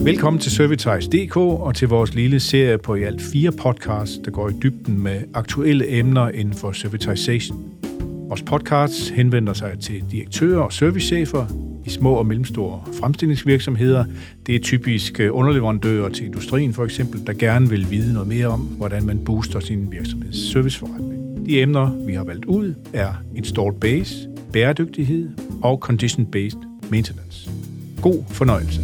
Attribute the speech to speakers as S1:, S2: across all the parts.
S1: Velkommen til Servitize.dk og til vores lille serie på i alt 4 podcasts, der går i dybden med aktuelle emner inden for servitization. Vores podcasts henvender sig til direktører og servicechefer i små og mellemstore fremstillingsvirksomheder. Det er typisk underleverandører til industrien for eksempel, der gerne vil vide noget mere om, hvordan man booster sin virksomheds serviceforretning. De emner, vi har valgt ud, er installed base, bæredygtighed og condition-based maintenance. God fornøjelse.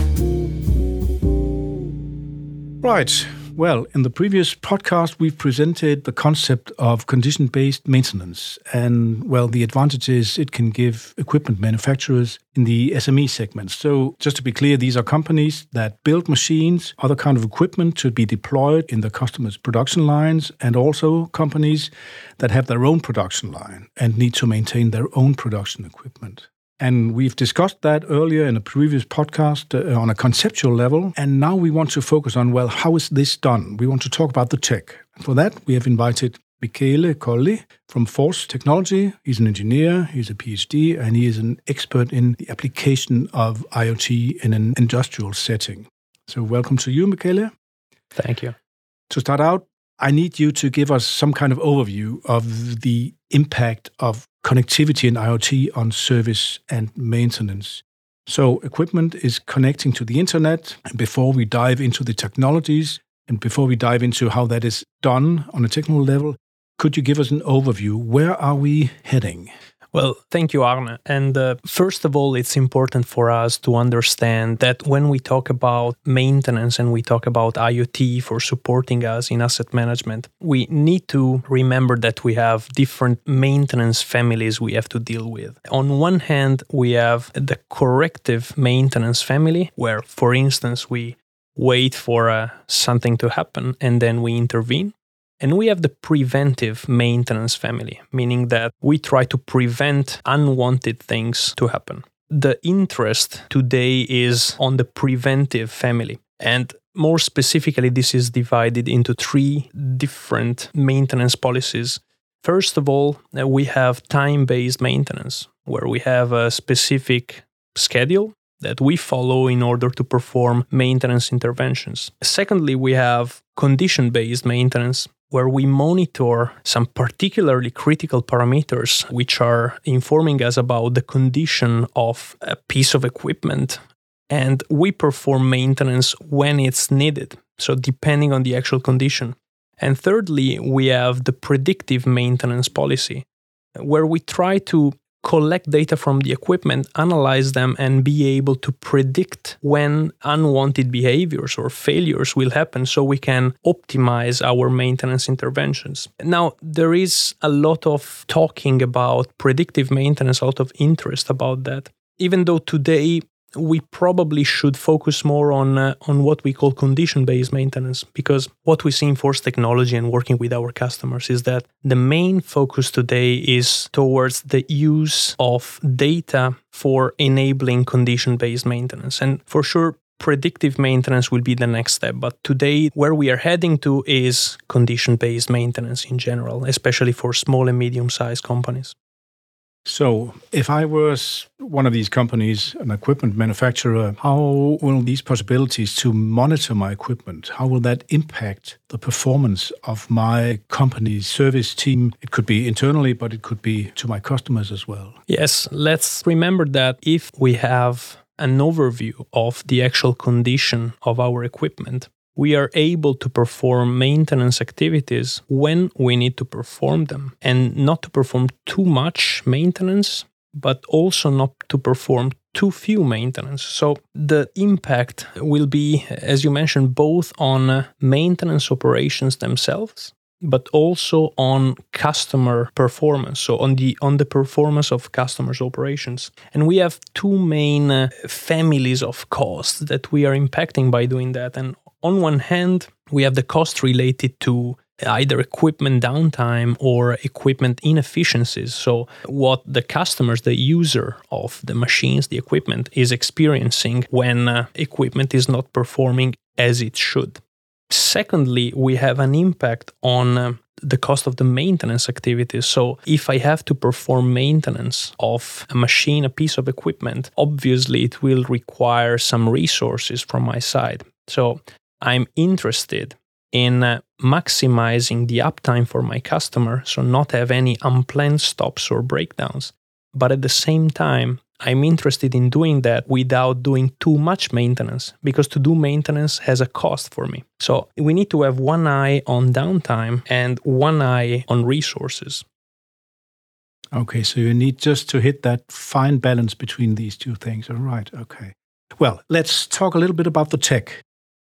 S1: Right. Well, in the previous podcast, we've presented the concept of condition-based maintenance and, well, the advantages it can give equipment manufacturers in the SME segment. So, just to be clear, these are companies that build machines, other kind of equipment to be deployed in the customer's production lines, and also companies that have their own production line and need to maintain their own production equipment. And we've discussed that earlier in a previous podcast on a conceptual level. And now we want to focus on, well, how is this done? We want to talk about the tech. And for that, we have invited Michele Colli from Force Technology. He's an engineer, he's a PhD, and he is an expert in the application of IoT in an industrial setting. So welcome to you, Michele.
S2: Thank you.
S1: To start out, I need you to give us some kind of overview of the impact of connectivity and IoT on service and maintenance. So equipment is connecting to the internet, and before we dive into the technologies and before we dive into how that is done on a technical level, could you give us an overview? Where are we heading?
S2: Well, thank you, Arne. And first of all, it's important for us to understand that when we talk about maintenance and we talk about IoT for supporting us in asset management, we need to remember that we have different maintenance families we have to deal with. On one hand, we have the corrective maintenance family, where, for instance, we wait for something to happen and then we intervene. And we have the preventive maintenance family, meaning that we try to prevent unwanted things to happen. The interest today is on the preventive family. And more specifically, this is divided into 3 different maintenance policies. First of all, we have time-based maintenance, where we have a specific schedule that we follow in order to perform maintenance interventions. Secondly, we have condition-based maintenance, where we monitor some particularly critical parameters which are informing us about the condition of a piece of equipment, and we perform maintenance when it's needed, so depending on the actual condition. And thirdly, we have the predictive maintenance policy, where we try to collect data from the equipment, analyze them, and be able to predict when unwanted behaviors or failures will happen so we can optimize our maintenance interventions. Now, there is a lot of talking about predictive maintenance, a lot of interest about that, even though today we probably should focus more on what we call condition-based maintenance, because what we see in Force Technology and working with our customers is that the main focus today is towards the use of data for enabling condition-based maintenance. And for sure, predictive maintenance will be the next step. But today, where we are heading to is condition-based maintenance in general, especially for small and medium-sized companies.
S1: So, if I was one of these companies, an equipment manufacturer, how will these possibilities to monitor my equipment, how will that impact the performance of my company's service team? It could be internally, but it could be to my customers as well.
S2: Yes, let's remember that if we have an overview of the actual condition of our equipment, we are able to perform maintenance activities when we need to perform them, and not to perform too much maintenance, but also not to perform too few maintenance. So the impact will be, as you mentioned, both on maintenance operations themselves, but also on customer performance, so on the performance of customers' operations. And we have 2 main families of costs that we are impacting by doing that. And on one hand, we have the cost related to either equipment downtime or equipment inefficiencies. So what the customers, the user of the machines, the equipment, is experiencing when equipment is not performing as it should. Secondly, we have an impact on the cost of the maintenance activities. So if I have to perform maintenance of a machine, a piece of equipment, obviously it will require some resources from my side. So I'm interested in maximizing the uptime for my customer, so not have any unplanned stops or breakdowns. But at the same time, I'm interested in doing that without doing too much maintenance, because to do maintenance has a cost for me. So we need to have one eye on downtime and one eye on resources.
S1: Okay, so you need just to hit that fine balance between these two things. All right, okay. Well, let's talk a little bit about the tech.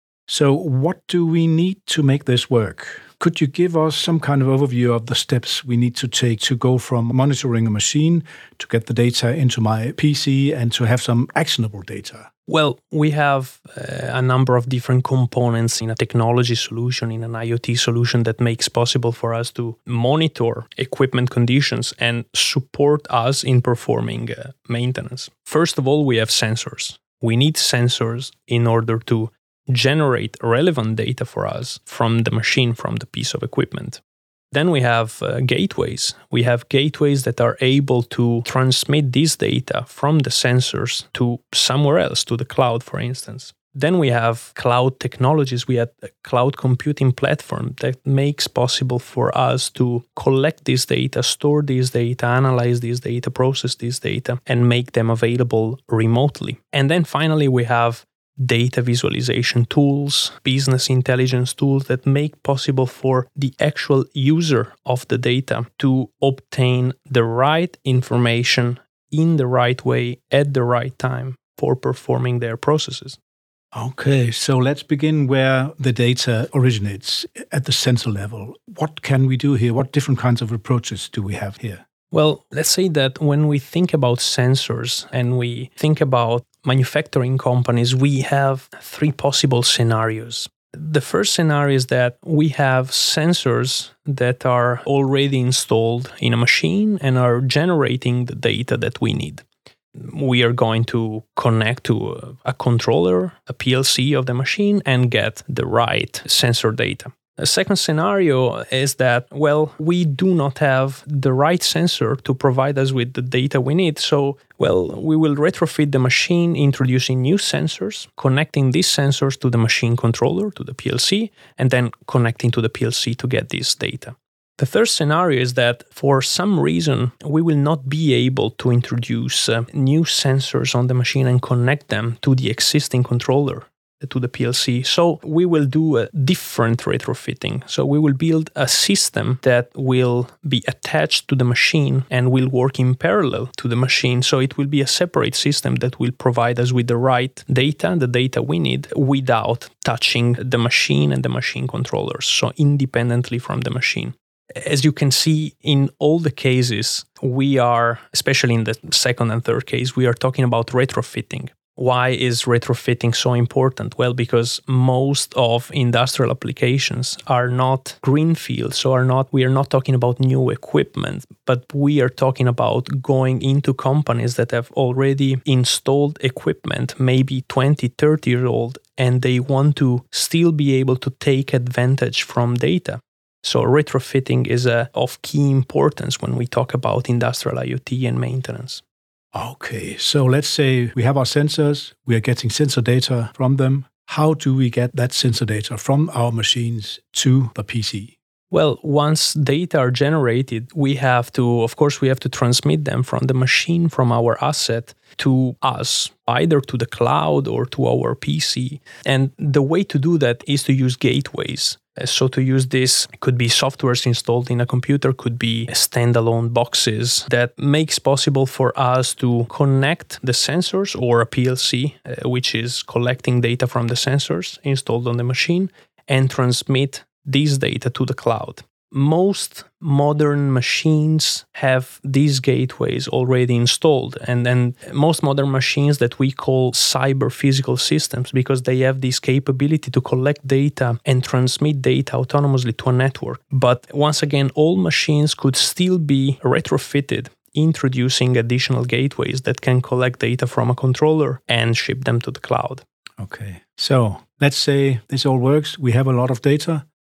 S1: So what do we need to make this work? Could you give us some kind of overview of the steps we need to take to go from monitoring a machine to get the data into my PC and to have some actionable data?
S2: Well, we have a number of different components in a technology solution, in an IoT solution that makes possible for us to monitor equipment conditions and support us in performing maintenance. First of all, we have sensors. We need sensors in order to generate relevant data for us from the machine, from the piece of equipment. Then we have gateways. We have gateways that are able to transmit this data from the sensors to somewhere else, to the cloud, for instance. Then we have cloud technologies. We have a cloud computing platform that makes possible for us to collect this data, store this data, analyze this data, process this data, and make them available remotely. And then finally, we have data visualization tools, business intelligence tools that make possible for the actual user of the data to obtain the right information in the right way at the right time for performing their processes.
S1: Okay, so let's begin where the data originates, at the sensor level. What can we do here? What different kinds of approaches do we have here?
S2: Well, let's say that when we think about sensors and we think about manufacturing companies, we have three possible scenarios. The first scenario is that we have sensors that are already installed in a machine and are generating the data that we need. We are going to connect to a controller, a PLC of the machine, and get the right sensor data. A second scenario is that, well, we do not have the right sensor to provide us with the data we need. So, well, we will retrofit the machine, introducing new sensors, connecting these sensors to the machine controller, to the PLC, and then connecting to the PLC to get this data. The third scenario is that for some reason, we will not be able to introduce new sensors on the machine and connect them to the existing controller, to the PLC. So we will do a different retrofitting. So we will build a system that will be attached to the machine and will work in parallel to the machine. So it will be a separate system that will provide us with the right data, the data we need, without touching the machine and the machine controllers. So independently from the machine. As you can see, in all the cases, we are, especially in the second and third case, we are talking about retrofitting. Why is retrofitting so important? Well, because most of industrial applications are not greenfield, so we are not talking about new equipment, but we are talking about going into companies that have already installed equipment, maybe 20, 30 years old, and they want to still be able to take advantage from data. So retrofitting is of key importance when we talk about industrial IoT and maintenance.
S1: Okay, so let's say we have our sensors, we are getting sensor data from them. How do we get that sensor data from our machines to the PC?
S2: Well, once data are generated, we have to transmit them from the machine, from our asset, to us, either to the cloud or to our PC. And the way to do that is to use gateways. So to use this, could be softwares installed in a computer, could be standalone boxes that makes possible for us to connect the sensors or a PLC, which is collecting data from the sensors installed on the machine, and transmit this data to the cloud. Most modern machines have these gateways already installed, and then most modern machines that we call cyber physical systems, because they have this capability to collect data and transmit data autonomously to a network. But once again, all machines could still be retrofitted, introducing additional gateways that can collect data from a controller and ship them to the cloud.
S1: Okay, so let's say this all works. We have a lot of data.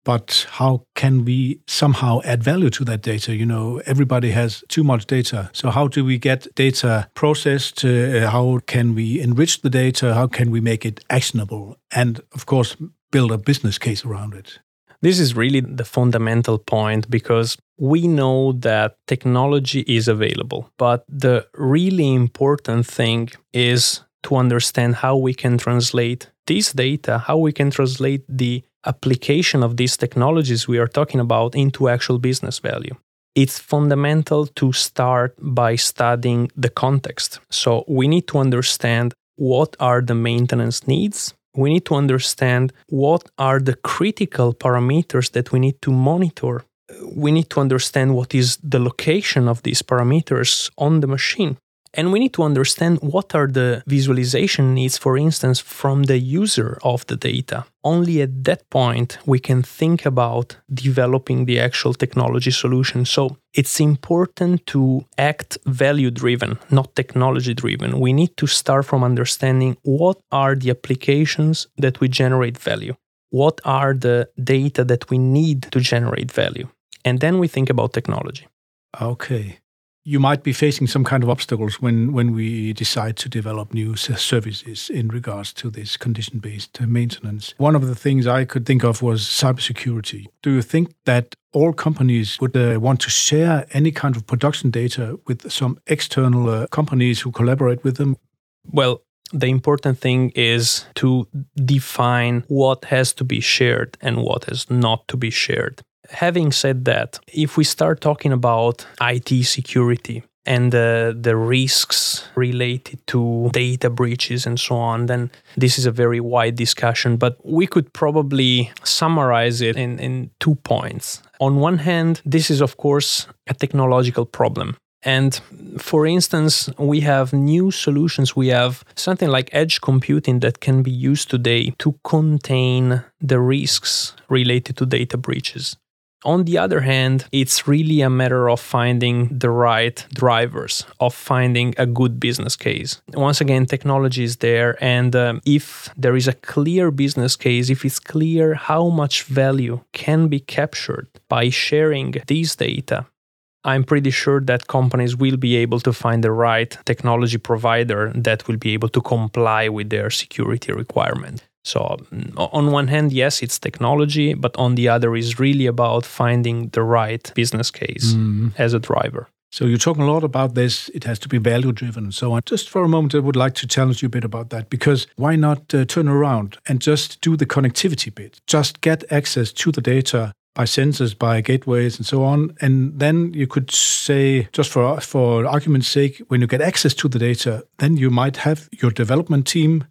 S1: but how can we somehow add value to that data? Everybody has too much data. So how do we get data processed? How can we enrich the data? How can we make it actionable? And of course, build a business case around it.
S2: This is really the fundamental point, because we know that technology is available, but the really important thing is to understand how we can translate this data, how we can translate the application of these technologies we are talking about into actual business value. It's fundamental to start by studying the context. So we need to understand what are the maintenance needs. We need to understand what are the critical parameters that we need to monitor. We need to understand what is the location of these parameters on the machine. And we need to understand what are the visualization needs, for instance, from the user of the data. Only at that point we can think about developing the actual technology solution. So it's important to act value-driven, not technology-driven. We need to start from understanding what are the applications that we generate value. What are the data that we need to generate value? And then we think about technology.
S1: Okay. You might be facing some kind of obstacles when we decide to develop new services in regards to this condition-based maintenance. One of the things I could think of was cybersecurity. Do you think that all companies would want to share any kind of production data with some external companies who collaborate with them?
S2: Well, the important thing is to define what has to be shared and what is not to be shared. Having said that, if we start talking about IT security and the risks related to data breaches and so on, then this is a very wide discussion, but we could probably summarize it in 2 points. On one hand, this is of course a technological problem. And for instance, we have new solutions. We have something like edge computing that can be used today to contain the risks related to data breaches. On the other hand, it's really a matter of finding the right drivers, of finding a good business case. Once again, technology is there, and if there is a clear business case, if it's clear how much value can be captured by sharing these data, I'm pretty sure that companies will be able to find the right technology provider that will be able to comply with their security requirement. So on one hand, yes, it's technology, but on the other is really about finding the right business case as a driver.
S1: So you're talking a lot about this, it has to be value-driven and so on. Just for a moment, I would like to challenge you a bit about that, because why not turn around and just do the connectivity bit? Just get access to the data by sensors, by gateways and so on. And then you could say, just for argument's sake, when you get access to the data, then you might have your development team.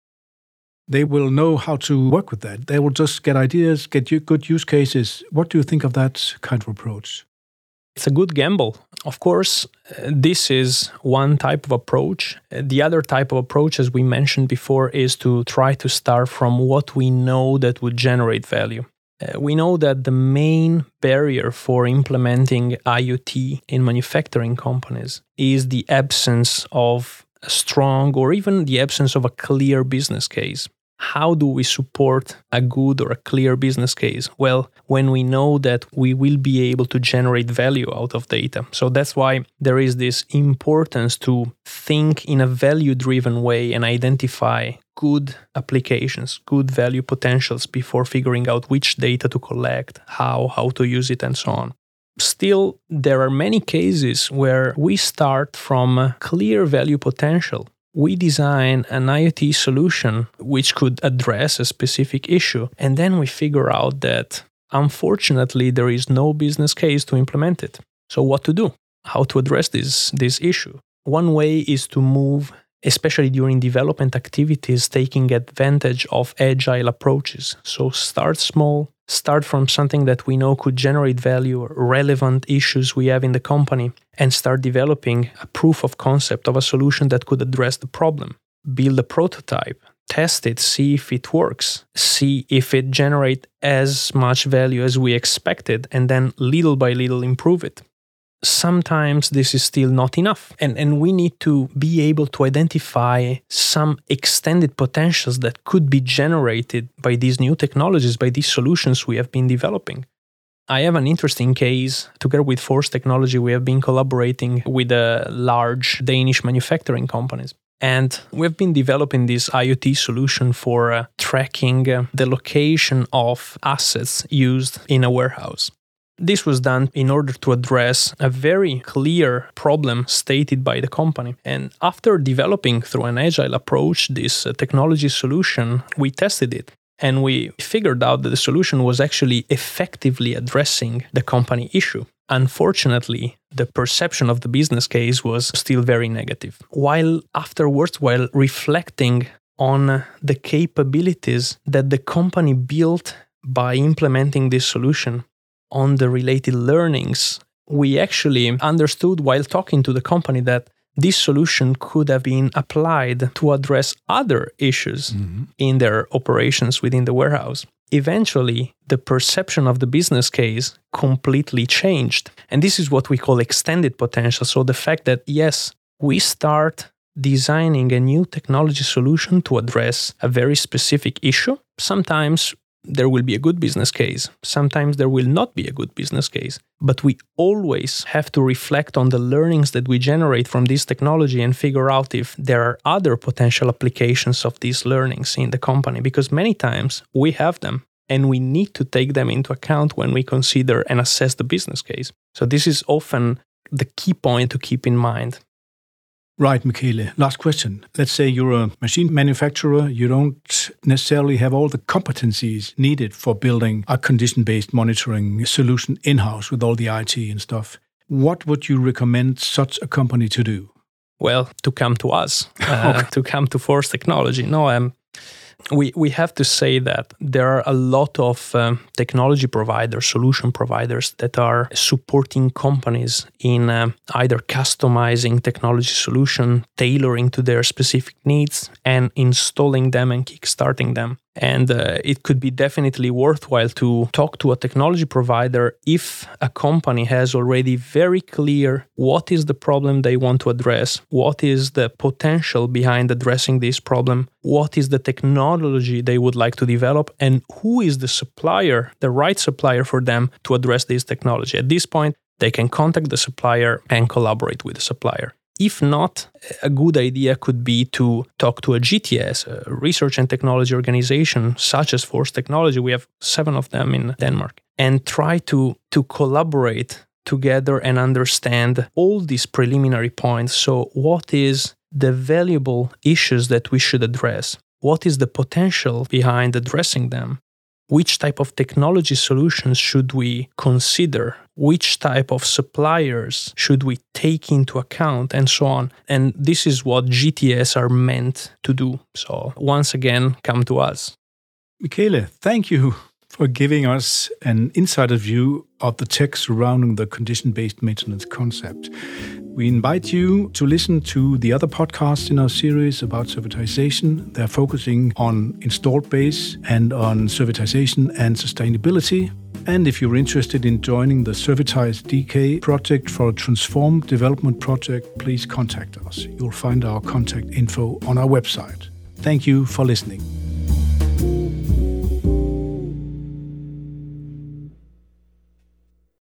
S1: They will know how to work with that. They will just get ideas, get good use cases. What do you think of that kind of approach?
S2: It's a good gamble. Of course, this is one type of approach. The other type of approach, as we mentioned before, is to try to start from what we know that would generate value. We know that the main barrier for implementing IoT in manufacturing companies is the absence of a strong or even the absence of a clear business case. How do we support a good or a clear business case? Well, when we know that we will be able to generate value out of data. So that's why there is this importance to think in a value-driven way and identify good applications, good value potentials before figuring out which data to collect, how to use it, and so on. Still, there are many cases where we start from a clear value potential. We design an IoT solution which could address a specific issue, and then we figure out that, unfortunately, there is no business case to implement it. So what to do? How to address this issue? One way is to move, especially during development activities, taking advantage of agile approaches. So start small, start from something that we know could generate value or relevant issues we have in the company, and start developing a proof of concept of a solution that could address the problem. Build a prototype, test it, see if it works, see if it generates as much value as we expected, and then little by little improve it. sometimes this is still not enough. And we need to be able to identify some extended potentials that could be generated by these new technologies, by these solutions we have been developing. I have an interesting case. Together with Force Technology, we have been collaborating with large Danish manufacturing companies. And we've been developing this IoT solution for tracking the location of assets used in a warehouse. This was done in order to address a very clear problem stated by the company. And after developing through an agile approach this technology solution, we tested it. And we figured out that the solution was actually effectively addressing the company issue. Unfortunately, the perception of the business case was still very negative. While reflecting on the capabilities that the company built by implementing this solution, on the related learnings, we actually understood while talking to the company that this solution could have been applied to address other issues in their operations within the warehouse. Eventually, the perception of the business case completely changed. And this is what we call extended potential. So the fact that, yes, we start designing a new technology solution to address a very specific issue. Sometimes there will be a good business case. Sometimes there will not be a good business case. But we always have to reflect on the learnings that we generate from this technology and figure out if there are other potential applications of these learnings in the company. Because many times we have them and we need to take them into account when we consider and assess the business case. So this is often the key point to keep in mind.
S1: Right, Michele. Last question. Let's say you're a machine manufacturer. You don't necessarily have all the competencies needed for building a condition-based monitoring solution in-house with all the IT and stuff. What would you recommend such a company to do?
S2: Well, to come to us, to come to Force Technology. No, we have to say that there are a lot of technology providers, solution providers that are supporting companies in either customizing technology solution, tailoring to their specific needs, and installing them and kickstarting them. And it could be definitely worthwhile to talk to a technology provider if a company has already very clear what is the problem they want to address, what is the potential behind addressing this problem, what is the technology they would like to develop, and who is the supplier, the right supplier for them to address this technology. At this point, they can contact the supplier and collaborate with the supplier. If not, a good idea could be to talk to a GTS, a research and technology organization such as Force Technology. We have 7 of them in Denmark. And try to collaborate together and understand all these preliminary points. So what is the valuable issues that we should address? What is the potential behind addressing them? Which type of technology solutions should we consider? Which type of suppliers should we take into account, and so on? And this is what GTS are meant to do. So once again, come to us.
S1: Michele, thank you for giving us an insider view of the tech surrounding the condition-based maintenance concept. We invite you to listen to the other podcasts in our series about servitization. They're focusing on installed base and on servitization and sustainability. And if you're interested in joining the Servitize DK project for a transformed development project, please contact us. You'll find our contact info on our website. Thank you for listening.